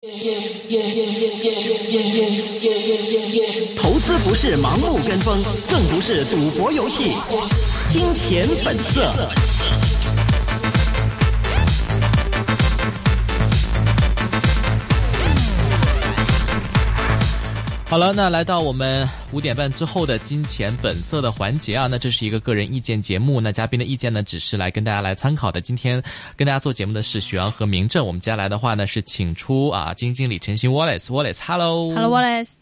投资不是盲目跟风，更不是赌博游戏。金钱本色。 好了，那来到我们5点半之后的金钱本色的环节啊，那这是一个个人意见节目，那嘉宾的意见呢只是来跟大家来参考的。今天跟大家做节目的是许阳和明正，我们接下来的话呢是请出基金经理陈鑫 Wallace， Hello Wallace。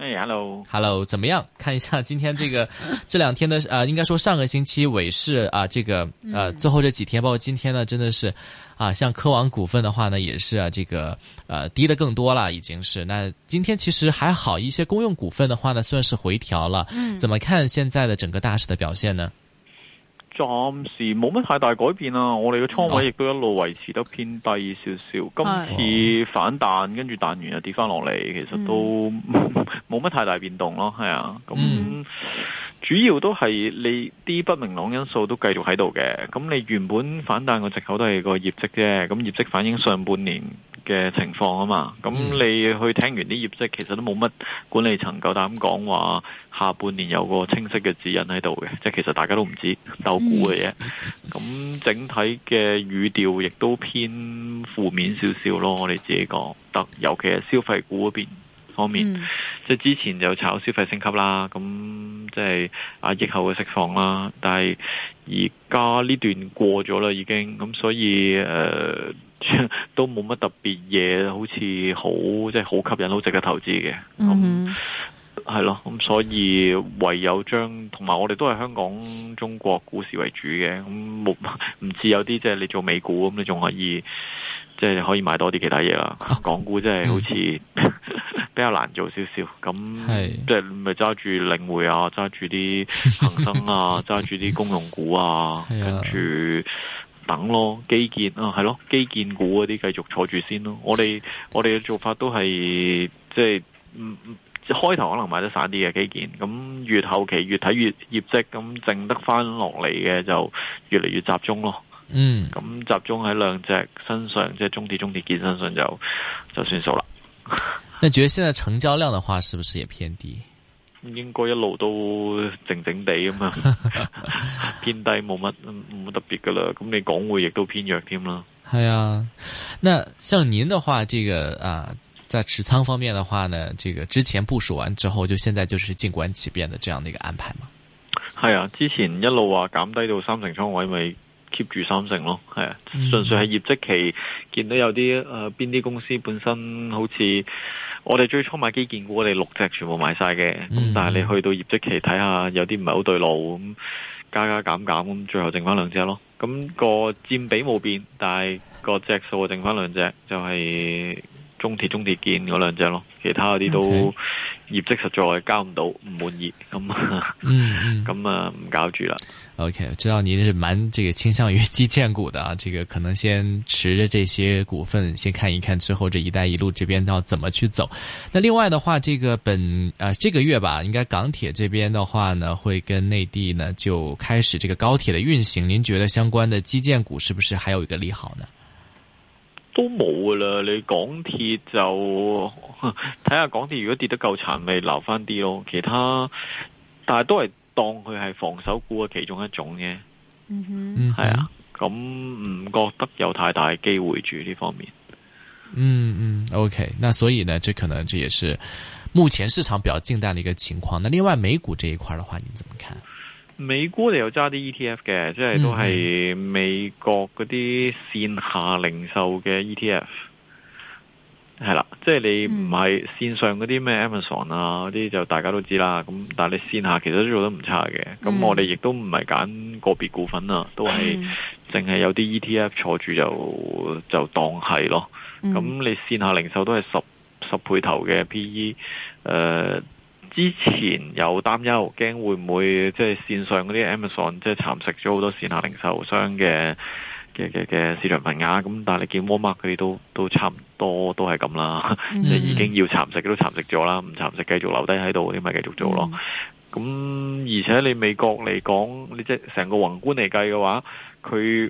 Hello， 怎么样？看一下今天这两天的应该说上个星期尾市最后这几天，包括今天呢，真的是像科网股份的话呢，也是低的更多了，已经是。那今天其實還好，一些公用股份的話呢，算是回調了。怎麼看現在的整個大市的表現呢？ 暫時冇乜太大改變啊，我哋嘅倉位亦都一路維持得偏低少少。今次反彈，跟住彈完又跌翻落嚟，其實都冇乜太大變動咯，係啊。咁主要都係你啲不明朗因素都繼續喺度嘅。咁你原本反彈個藉口都係個業績啫，咁業績反映上半年嘅情況啊嘛。咁你去聽完啲業績，其實都冇乜管理層夠膽講話下半年有個清晰嘅指引喺度嘅，即係其實大家都唔知鬥估嘅嘢。咁整體嘅語調亦都偏負面少少咯，我哋自己覺得，尤其係消費股嗰邊方面，即係之前就炒消費升級啦，咁即係疫後嘅釋放啦，但係而家呢段過咗啦已經，咁所以都冇乜特別嘢，好似好即係好吸引，好值得投資嘅。係咯，咁所以唯有同埋我哋都係香港中國股市為主嘅，咁唔似有啲即係你做美股咁，你仲可以即係可以買多啲其他嘢啦。港股即係好似比較難做少少，咁即係咪揸住領匯啊，揸住啲恒生啊，揸住啲公用股啊，跟住等咯，基建係咯，基建股嗰啲繼續坐住先咯。我哋嘅做法都係即係開頭可能買得散啲嘅基建，咁越後期越睇越業績，咁剩得翻落嚟嘅就越嚟越集中咯。咁集中喺兩隻身上，即係中鐵建身上就算數啦。 那覺得現在成交量的話，是不是也偏低？ 應該一路都靜靜地咁嘛，偏低冇乜特別噶啦。咁你港匯亦都偏弱添啦。 係啊，那像您的話，在持倉方面的話呢，之前部署完之後，就現在就是靜觀其變的這樣的一個安排嗎？ 係啊，之前一路話減低到3成倉位，咪 keep 住3成咯。係啊，純粹係業績期見到有啲邊啲公司本身好似我哋最初買基建股，我哋6隻全部買晒嘅。咁但係你去到業績期睇下，有啲唔係好對路，咁加減咁，最後剩翻2隻咯。咁個佔比冇變，但係個隻數剩翻2隻，就係中鐵建嗰2隻咯，其他嗰啲都業績實在交唔到，唔滿意，咁唔搞住啦。 OK， 知道您是蠻傾向於基建股的啊，可能先持着這些股份先看一看，之後這一帶一路這邊要怎麼去走。那另外的話，這個月吧，應該港鐵這邊的話呢，會跟內地呢就開始這個高鐵的運行。您覺得相關的基建股是不是還有一個利好呢？ 都冇噶啦，你港鐵就睇下港鐵如果跌得夠殘，咪留翻啲咯。其他但係都係當佢係防守股嘅其中一種嘅。係啊，咁唔覺得有太大機會住呢方面。 OK， 那所以呢，這可能這也是目前市場比較靜淡的一個情況。那另外美股這一塊的話，您怎麼看？ 美股你有揸啲 ETF 嘅，即係都係美國嗰啲線下零售嘅 ETF，係啦，即係你唔係線上嗰啲咩 Amazon 啊嗰啲就大家都知啦。咁但係你線下其實都做得唔差嘅。咁我哋亦都唔係揀個別股份啊，都係淨係有啲 ETF 坐住就當係咯。咁你線下零售都係十倍頭嘅 PE，之前有擔憂，驚會唔會即係線上嗰啲 Amazon 即係蠶食咗好多線下零售商嘅市場份額，咁但係你見 Walmart 佢哋都差唔多都係咁啦，即係已經要蠶食都蠶食咗啦，唔蠶食繼續留低喺度，你咪繼續做咯。咁而且你美國嚟講，你即係成個宏觀嚟計嘅話，佢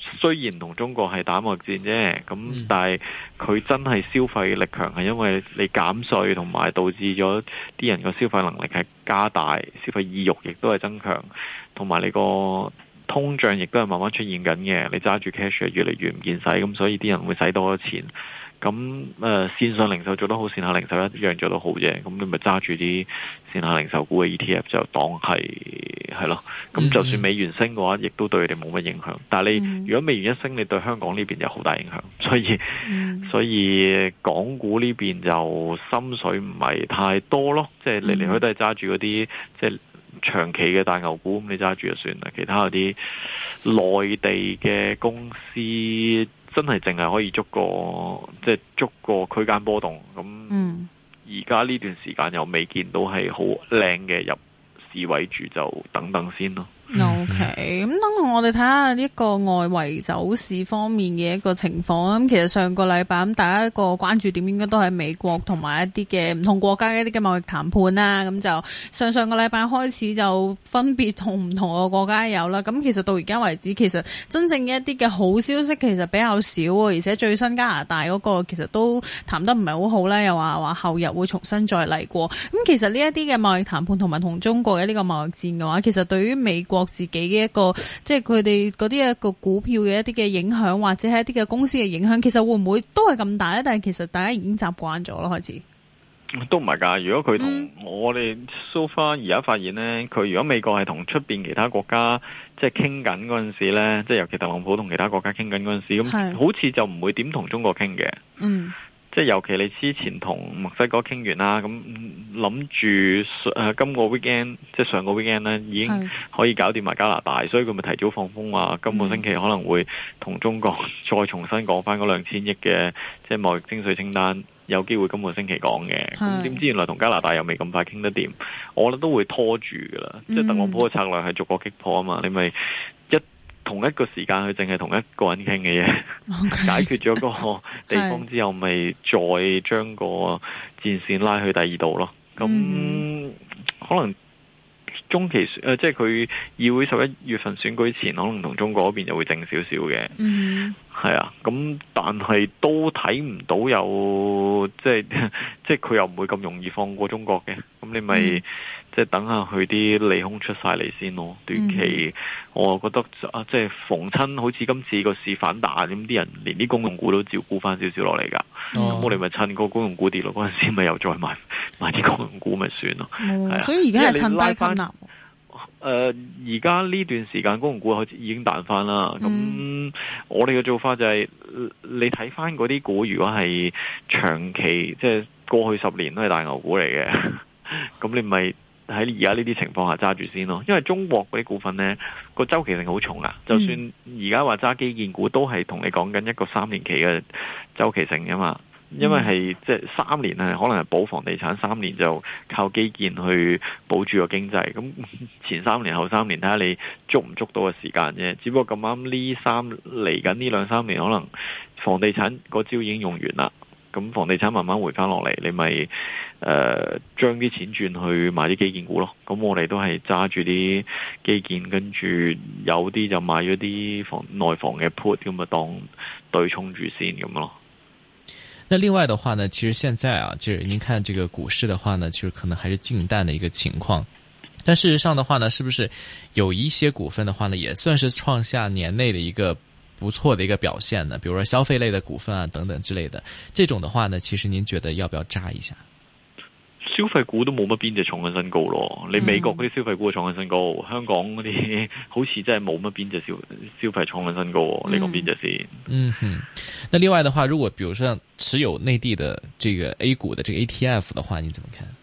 雖然同中國係打貿易戰啫，咁但係佢真係消費力強，係因為你減稅同埋導致咗啲人個消費能力係加大，消費意欲亦都係增強，同埋你個通脹亦都係慢慢出現緊嘅，你揸住 cash 越嚟越唔見使，咁所以啲人會使多咗錢。咁線上零售做得好，線下零售一樣做得好啫。咁你咪揸住啲線下零售股嘅 ETF 就當係咯。咁就算美元升嘅話，亦都對佢哋冇乜影響。但係你如果美元一升，你對香港呢邊有好大影響。所以港股呢邊就心水唔係太多咯。即係嚟嚟去都係揸住嗰啲即係長期嘅大牛股，咁你揸住就算啦。其他嗰啲內地嘅公司，真係淨係可以捉個區間波動，咁而家呢段時間又未見到係好靚嘅入市位住，就等等先咯。 OK， 咁等我哋睇下呢個外圍走勢方面嘅一個情況。咁其實上個禮拜咁，大家一個關注點應該都係美國同埋一啲嘅唔同國家嘅一啲嘅貿易談判啦。咁就上個禮拜開始就分別同唔同嘅國家有啦。咁其實到而家為止，其實真正嘅一啲嘅好消息其實比較少，而且最新加拿大嗰個其實都談得唔係好好啦，又話後日會重新再嚟過。咁其實呢一啲嘅貿易談判同埋同中國嘅呢個貿易戰嘅話，其實對於美國自己嘅一個即係佢哋嗰啲一個股票嘅一啲嘅影響，或者係一啲嘅公司嘅影響，其實會唔會都係咁大咧？但係其實大家已經習慣咗咯，開始都唔係㗎。如果佢同我哋 so far 而家發現呢，佢如果美國係同出邊其他國家即係傾緊嗰陣時呢，即係尤其特朗普同其他國家傾緊嗰陣時，咁好似就唔會點同中國傾嘅。即係尤其你之前同墨西哥傾完啦，咁諗住今個 weekend 即係上個 weekend 呢已經可以搞掂埋加拿大，所以佢咪提早放風話今個星期可能會同中國再重新講翻嗰2000億嘅即係貿易徵稅清單，有機會今個星期講嘅。咁點知原來同加拿大又未咁快傾得掂，我覺得都會拖住噶啦。即係特朗普嘅策略係逐個擊破啊嘛，你咪同一個時間佢淨係同一個人傾嘅嘢，解決咗個地方之後，咪再將個戰線拉去第二度咯。咁可能中期即係佢議會11月份選舉前，可能同中國嗰邊就會靜少少嘅。係啊，咁但係都睇唔到有即係佢又唔會咁容易放過中國嘅。咁你咪即係等下佢啲利空出晒嚟先咯。短期我覺得即係逢親好似今次個市反彈，咁啲人連啲公用股都照顧翻少少落嚟噶。咁我哋咪趁個公用股跌落嗰陣時，咪又再買啲公用股咪算咯。係啊， 所以而家係趁低吸納。 而家呢段時間公用股已經彈翻啦。咁我哋嘅做法就係你睇翻嗰啲股，如果係長期即係過去10年都係大牛股嚟嘅，咁你咪喺而家呢啲情況下揸住先咯。因為中國嗰啲股份呢個周期性好重啊。就算而家話揸基建股，都係同你講緊一個3年期嘅周期性噶嘛。因為係即係3年係可能係保房地產，3年就靠基建去保住個經濟。咁前3年後3年睇下你捉唔捉到嘅時間啫。只不過咁啱嚟緊呢2-3年，可能房地產個招已經用完啦。咁房地產慢慢回翻落嚟，你咪將啲錢轉去買啲基建股咯。咁我哋都係揸住啲基建，跟住有啲就買咗啲內房嘅 put， 咁啊當對沖住先咁咯。 那另外的話呢，其實現在啊，就是您看這個股市的話呢，其實可能還是靜淡的一個情況。但事實上的話呢，是不是有一些股份的話呢，也算是創下年內的一個不錯的一個表現呢？比如說消費類的股份啊，等等之類的，這種的話呢，其實您覺得要不要揸一下？ 消費股都冇乜邊隻創緊新高咯。你美國嗰啲消費股創緊新高，香港嗰啲好似真係冇乜邊隻消費創緊新高。你講邊隻先？ 那另外的話，如果比如說持有內地的這個 A 股的這個 ETF 的話，你怎麼看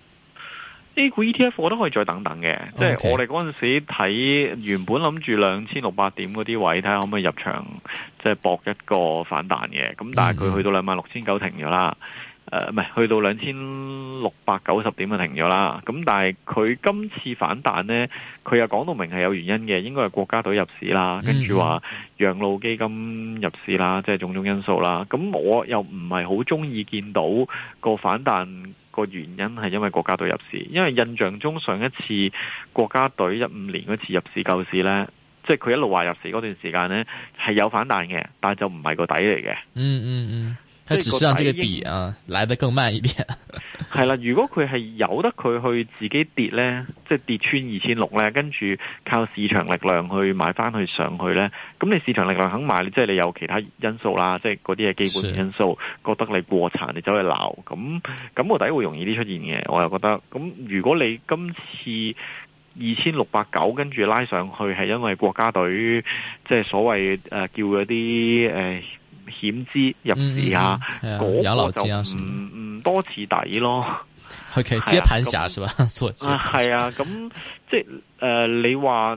？A 股 ETF 我都可以再等等嘅。即係我哋嗰陣時睇，原本諗住2600點嗰啲位，睇下可唔可以入場，即係搏一個反彈嘅。咁但係佢去到26900停咗啦。唔係去到2690點就停咗啦。咁但係佢今次反彈呢，佢又講到明係有原因嘅，應該係國家隊入市啦，跟住話養老基金入市啦，即係種種因素啦。咁我又唔係好中意見到個反彈個原因係因為國家隊入市，因為印象中上一次國家隊15年嗰次入市救市呢， 即係佢一路話入市嗰段時間呢，係有反彈嘅，但係就唔係個底嚟嘅。 它只是讓這個底啊來得更慢一點。 係啦，如果佢係由得佢去自己跌呢，即係跌穿2600呢，跟住靠市場力量去買翻去上去呢，咁你市場力量肯買，即係你有其他因素啦，即係嗰啲係基本因素，覺得你過殘，你走去鬧，咁個底會容易啲出現嘅。我又覺得，咁如果你今次2690跟住拉上去，係因為國家隊即係所謂叫嗰啲險資入市啊，嗰個就唔多似底咯。 OK， 接盤俠是吧？做接盤俠係啊，咁即係你話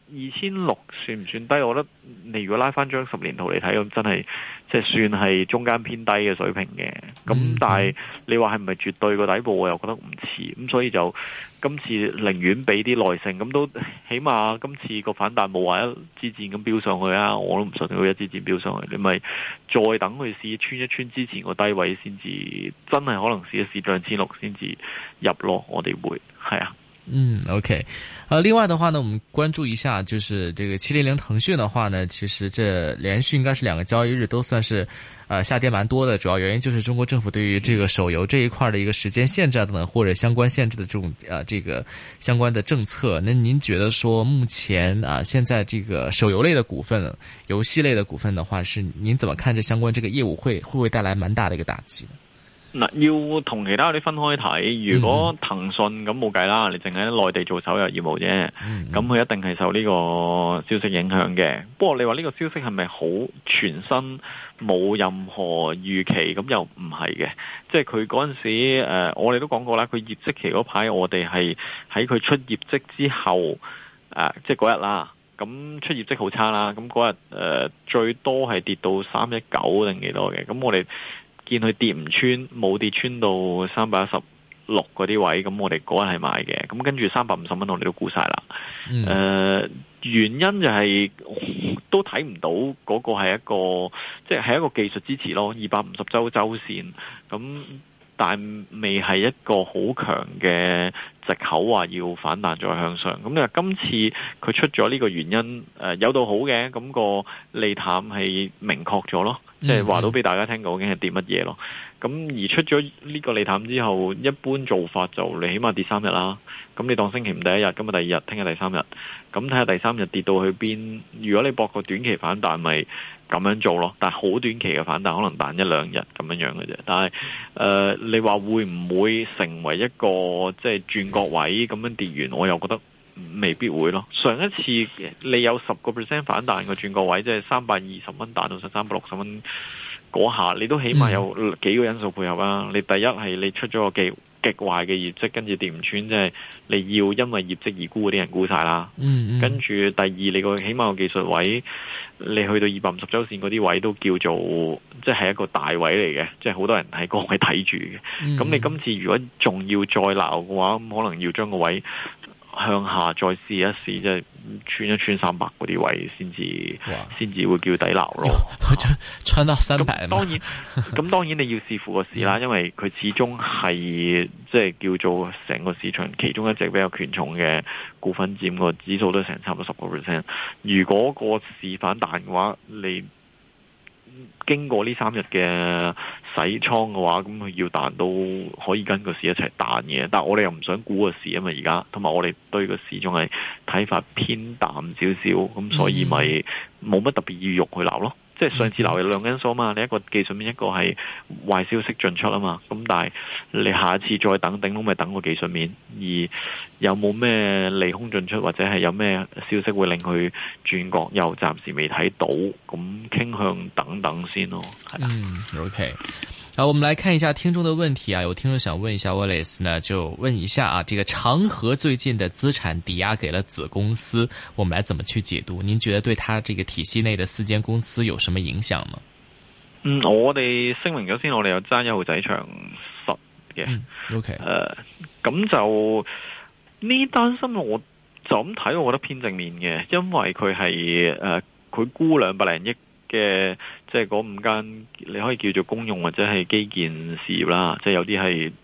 2600算唔算低？我覺得你如果拉翻張10年圖嚟睇，咁真係即係算係中間偏低嘅水平嘅。咁但係你話係唔係絕對個底部，我又覺得唔似。咁所以就今次寧願俾啲耐性，咁都起碼今次個反彈冇話一支箭咁飆上去啊！我都唔信佢一支箭飆上去，你咪再等佢試穿一穿之前個低位先至，真係可能試一試2600先至入咯。我哋會係啊。 OK，另外的話呢，我們關注一下，就是這個700騰訊的話呢，其實這連續應該是2個交易日都算是，下跌蠻多的。主要原因就是中國政府對於這個手遊這一塊的一個時間限制等等，或者相關限制的這種這個相關的政策。那您覺得說目前現在這個手遊類的股份、遊戲類的股份的話，是您怎麼看這相關這個業務會不會帶來蠻大的一個打擊呢？ 嗱，要同其他嗰啲分開睇。如果騰訊咁冇計啦，你淨係喺內地做手遊業務啫，咁佢一定係受呢個消息影響嘅。不過你話呢個消息係咪好全新，冇任何預期？咁又唔係嘅。即係佢嗰陣時，我哋都講過啦，佢業績期嗰排，我哋係喺佢出業績之後，即係嗰日啦。咁出業績好差啦，咁嗰日最多係跌到319定幾多嘅。咁我哋見佢跌唔穿，冇跌穿到316嗰啲位，咁我哋嗰日係買嘅。咁跟住350蚊我哋都沽晒啦。原因就係都睇唔到嗰個係一個，即係一個技術支持咯，250周線。咁但未係一個好強嘅藉口話要反彈再向上。咁你話今次佢出咗呢個原因，有到好嘅，咁個利淡係明確咗咯。即係話到俾大家聽究竟係跌乜嘢咯。咁而出咗呢個利淡之後，一般做法就你起碼跌3日啦。咁你當星期五第一日，今日第二日，聽日第三日，咁睇下第三日跌到去邊。如果你博個短期反彈，咪咁樣做咯。但係好短期嘅反彈，可能彈1-2日咁樣樣嘅啫。但係你話會唔會成為一個即係轉角位咁樣跌完？我又覺得未必會咯。上一次你有10% 反彈個轉角位，即係320蚊彈到360蚊嗰下，你都起碼有幾個因素配合啊。你第一係你出咗個極壞嘅業績，跟住跌唔穿，即係你要因為業績而沽嗰啲人沽晒啦。跟住第二，你個起碼個技術位，你去到250周線嗰啲位都叫做即係一個大位嚟嘅，即係好多人喺嗰位睇住嘅。咁你今次如果仲要再鬧嘅話，咁可能要將個位向下再試一試，即係穿一穿300嗰啲位先至會叫底撈咯。 穿到300。 咁當然你要視乎個市啦，因為佢始終係即係叫做成個市場其中一隻比較權重嘅股份，佔個指數都成差唔多10%。如果個市反彈嘅話，你經過呢3日嘅洗倉嘅話，咁佢要彈都可以跟個市一齊彈嘅。但係我哋又唔想估個市啊嘛，而家同埋我哋對個市仲係睇法偏淡少少，咁所以咪冇乜特別意欲去鬧咯。即係上次鬧有兩個因素啊嘛，你一個技術面，一個係壞消息進出啊嘛。咁但係你下一次再等頂籠，咪等個技術面，而有冇咩利空進出，或者係有咩消息會令佢轉角，又暫時未睇到，咁傾向等等先咯。係啦。 OK。好，我們來看一下聽眾的問題啊，有聽眾想問一下 Wallace 呢，就問一下啊，這個長和最近的資產抵押給了子公司，我們來怎麼去解讀？您覺得對他這個體系內的4間公司有什麼影響嗎？ 我哋聲明咗先，我哋有爭1號仔長實嘅。 OK。 咁就呢單新聞我就咁睇，我覺得偏正面嘅，因為佢係佢估200零億嘅，即係嗰5間你可以叫做公用或者係基建事業啦，即係有啲係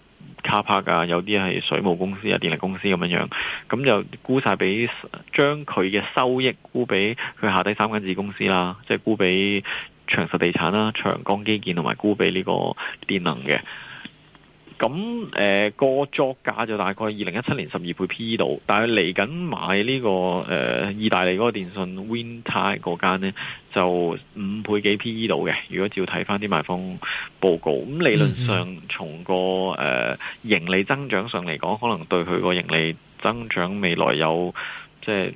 car park 啊，有啲係水務公司啊、電力公司咁樣，咁就沽晒俾將佢嘅收益沽俾佢下低3間子公司啦，即係沽俾長實地產啦、長江基建同埋沽俾呢個電能嘅。咁個作價就大概2017年12倍 PE 度，但係嚟緊買呢個意大利嗰個電信 Windtie 嗰間呢，就5倍幾 PE 度嘅。如果照睇翻啲賣方報告，咁理論上從個盈利增長上嚟講，可能對佢個盈利增長未來有即係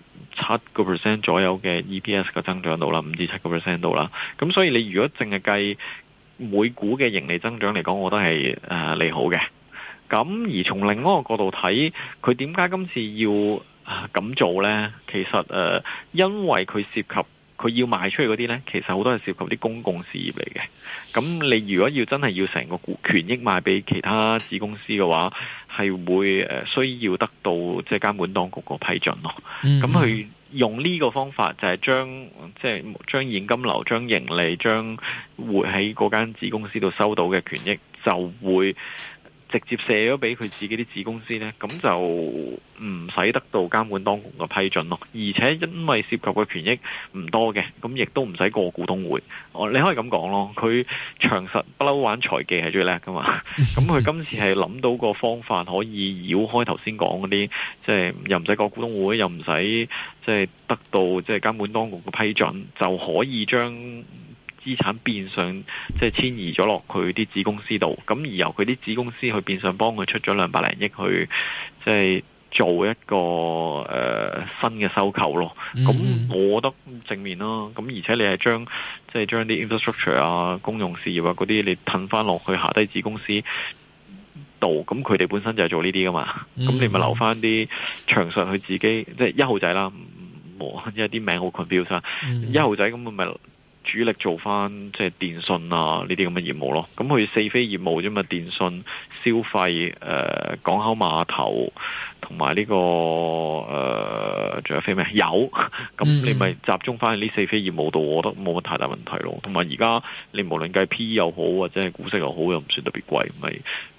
7% 左右嘅 EPS 嘅增長度啦，5至7% 度啦。咁所以你如果淨係計每股嘅盈利增長嚟講，我覺得係利好嘅。咁而從另一個角度睇，佢點解今次要咁做呢？其實因為佢涉及佢要賣出去嗰啲呢，其實好多係涉及啲公共事業嚟嘅。咁你如果要真係要成個權益賣俾其他子公司嘅話，係會需要得到即係監管當局個批准咯。咁佢用呢個方法就係將現金流、將盈利、將會喺嗰間子公司度收到嘅權益，就會直接射咗俾佢自己啲子公司呢，咁就唔使得到監管當局嘅批准咯。而且因為涉及嘅權益唔多嘅，咁亦都唔使過股東會。你可以咁講咯，佢長實不嬲玩財技係最叻噶嘛。咁佢今次係諗到個方法可以繞開頭先講嗰啲，即係又唔使過股東會，又唔使即係得到即係監管當局嘅批准，就可以將資產變相即係遷移咗落佢啲子公司度，咁而由佢啲子公司去變相幫佢出咗200零億去即係做一個新嘅收購咯。咁我覺得正面啦。咁而且你係將啲 infrastructure 啊、公用事業啊嗰啲，你褪翻落去下低子公司度，咁佢哋本身就係做呢啲噶嘛。咁你咪留翻啲長實佢自己，即係1號仔啦，因為啲名好 confuse 啊。1號仔咁咪主力做翻即係電信啊呢啲咁嘅業務咯，咁佢4飛業務啫嘛，電信、消費、港口碼頭同埋呢個仲有飛咩油，咁你咪集中翻喺呢4飛業務度，我覺得冇乜太大問題咯。同埋而家你無論計 PE 又好或者係股息又好，又唔算特別貴，咪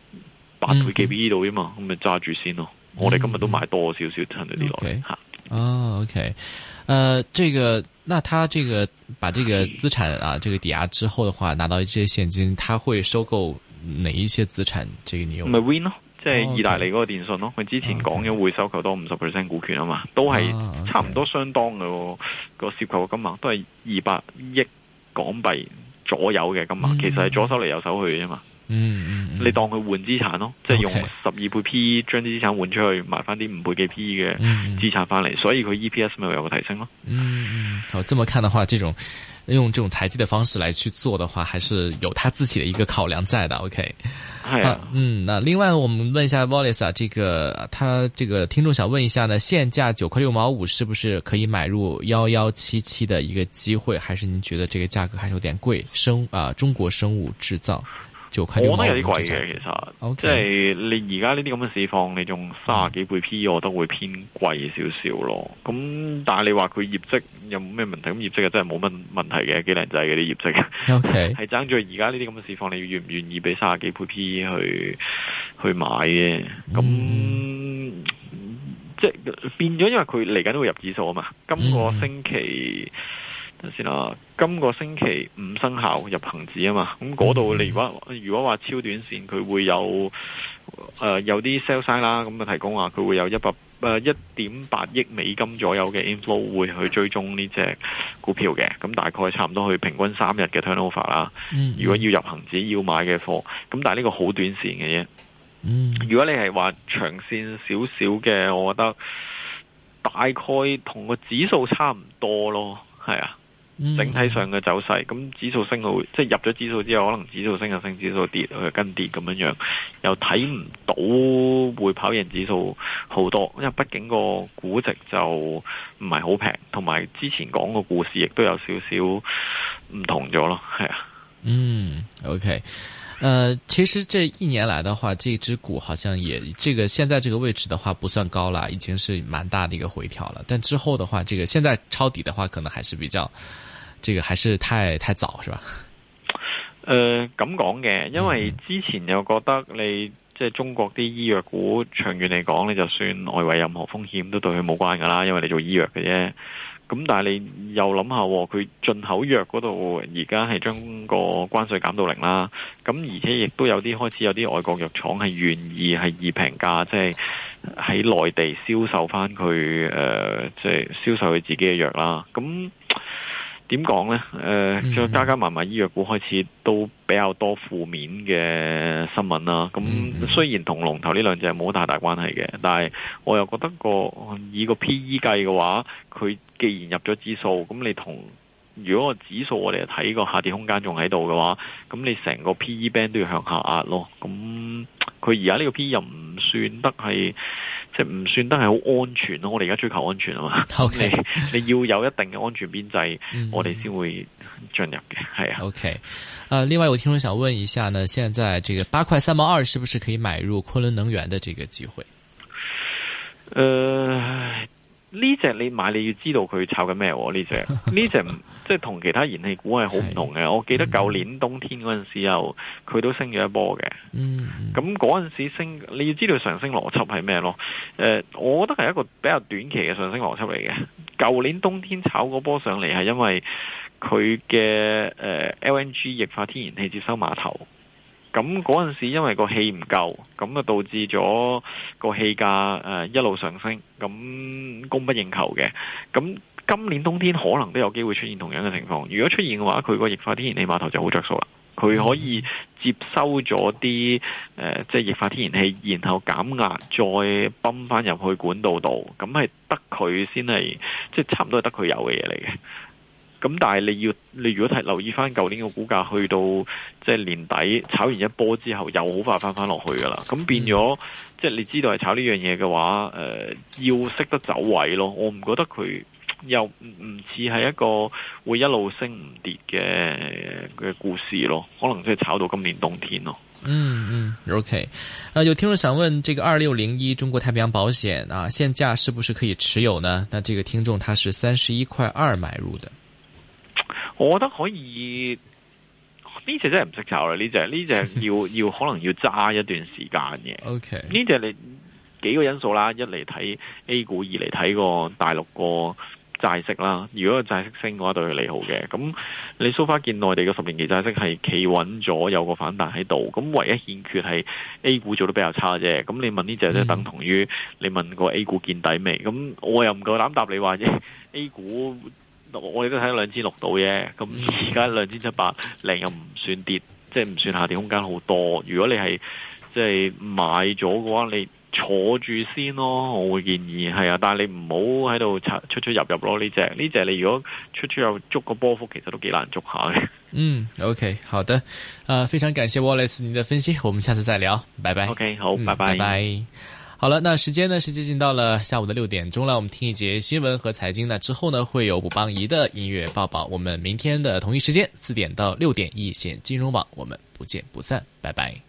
8倍幾 PE 度啫嘛，咁咪揸住先咯。我哋今日都買多少少趁咗啲落嚟吓。 OK，那他把這個資產啊，這個抵押之後的話，拿到這些現金，他會收購哪一些資產？這個你有咪 Win 咯，即係意大利嗰個電信咯。佢之前講咗會收購多50% 股權啊嘛，都係差唔多相當嘅個涉及嘅金額，都係200億港幣左右嘅金額，其實係左手嚟右手去嘅啫嘛。你當佢換資產咯，即係用12倍 P 將啲資產換出去，買翻啲5倍嘅 P 嘅資產翻嚟，所以佢 EPS 咪有個提升咯。 好，這麼看的話，用這種財技的方式來去做的話，還是有他自己的一個考量在的。OK， 係啊，那另外我們問一下 Wallace 啊，他這個聽眾想問一下呢，現價9塊6毛5是不是可以買入1177的一個機會，還是您覺得這個價格還是有點貴？中國生物製造。我覺得有啲貴嘅，其實，即係你而家呢啲咁嘅市況，你仲30幾倍 P， 我覺得會偏貴少少咯。咁但係你話佢業績有冇咩問題？咁業績啊真係冇乜問題嘅，幾靚仔嘅啲業績。OK，係爭住而家呢啲咁嘅市況，你願唔願意俾30幾倍 P 去買嘅？咁即係變咗，因為佢嚟緊都會入指數啊嘛。今個星期。等先啦，今個星期5生效入恒指啊嘛，咁嗰度你如果話超短線，佢會有啲 sell side 啦，咁啊提供話佢會有1.8億美金左右嘅 inflow 會去追蹤呢隻股票嘅，咁大概差唔多去平均3日嘅 turnover 啦。如果要入恒指要買嘅貨，咁但係呢個好短線嘅啫。如果你係話長線少少嘅，我覺得大概同個指數差唔多咯，係啊。整體上嘅走勢，咁指數升到，即係入咗指數之後，可能指數升就升，指數跌佢跟跌咁樣，又睇唔到會跑贏指數好多，因為畢竟個估值就唔係好平，同埋之前講個故事亦都有少少唔同咗咯，係啊。 OK，其實這1年來的話，這隻股好像也現在這個位置的話不算高了，已經是蠻大的一個回調了。但之後的話，現在抄底的話，可能還是比較。這個還是太早是吧？咁講嘅，因為之前又覺得你即係中國啲醫藥股長遠嚟講，你就算外圍任何風險都對佢冇關噶啦，因為你做醫藥嘅啫。咁但係你又諗下，佢進口藥嗰度而家係將個關稅減到0啦。咁而且亦都有啲開始有啲外國藥廠係願意係以平價，即係喺內地銷售翻佢即係銷售佢自己嘅藥啦。咁點講呢？再加埋醫藥股開始都比較多負面嘅新聞啦。咁雖然同龍頭呢兩隻冇太大關係嘅，但係我又覺得以個 PE 計嘅話，佢既然入咗指數，咁你如果個指數我哋睇個下跌空間仲喺度嘅話，咁你成個 PE band 都要向下壓咯。咁佢而家呢個 PE 又唔算得係，即係唔算得係好安全咯。我哋而家追求安全啊嘛。 Okay. 你要有一定嘅安全邊際，我哋先會進入嘅。係啊。 OK。另外有聽眾想問一下呢，現在這個8塊3毛2是不是可以買入昆侖能源的這個機會？ 呢隻你買你要知道佢炒緊咩？呢隻即係同其他燃氣股係好唔同嘅。我記得舊年冬天嗰陣時又佢都升咗一波嘅。咁嗰陣時升，你要知道上升邏輯係咩咯？我覺得係一個比較短期嘅上升邏輯嚟嘅。舊年冬天炒嗰波上嚟係因為佢嘅LNG 液化天然氣接收碼頭。咁嗰陣時因為個氣唔夠，咁啊導致咗個氣價一路上升，咁供不應求嘅。咁今年冬天可能都有機會出現同樣嘅情況。如果出現嘅話，佢個液化天然氣碼頭就好着數啦。佢可以接收咗啲即係液化天然氣，然後減壓再泵翻入去管道度，咁係得佢先係即係差唔多係得佢有嘅嘢嚟嘅。咁但係你如果睇留意翻舊年嘅股價，去到即係年底炒完一波之後，又好快翻落去噶啦。咁變咗，即係你知道係炒呢樣嘢嘅話，要識得走位咯。我唔覺得佢又唔似係一個會一路升唔跌嘅故事咯。可能即係炒到今年冬天咯。 OK。有聽眾想問，這個2601中國太平洋保險啊，現價是不是可以持有呢？那這個聽眾他是31.2塊買入的。 我覺得可以，呢隻真係唔識炒啦。呢隻要可能要揸一段時間嘅。 OK， 呢隻你幾個因素啦，一嚟睇 A 股，二嚟睇個大陸個債息啦。如果個債息升嘅話，對佢利好嘅。咁你 so far 見內地嘅10年期債息係企穩咗，有個反彈喺度。咁唯一欠缺係 A 股做得比較差啫。咁你問呢隻即係等同於你問個 A 股見底未？咁我又唔夠膽答你話啫。A 股我哋都睇到2600到啫，咁而家2700又唔算跌，即係唔算下跌空間好多。如果你係即係買咗嘅話，你坐住先咯，我會建議係啊。但係你唔好喺度出入咯。呢隻你如果出入捉個波幅，其實都幾難捉下嘅。 OK， 好的，非常感謝 Wallace 您的分析，我們下次再聊，拜拜。 OK， 好，拜拜。 拜拜。好了，那時間呢是接近到了下午的6點鐘了，我們聽一節新聞和財經呢，之後呢會有卜邦儀的音樂報報。我們明天的同一時間4點到6點一線金融網，我們不見不散，拜拜。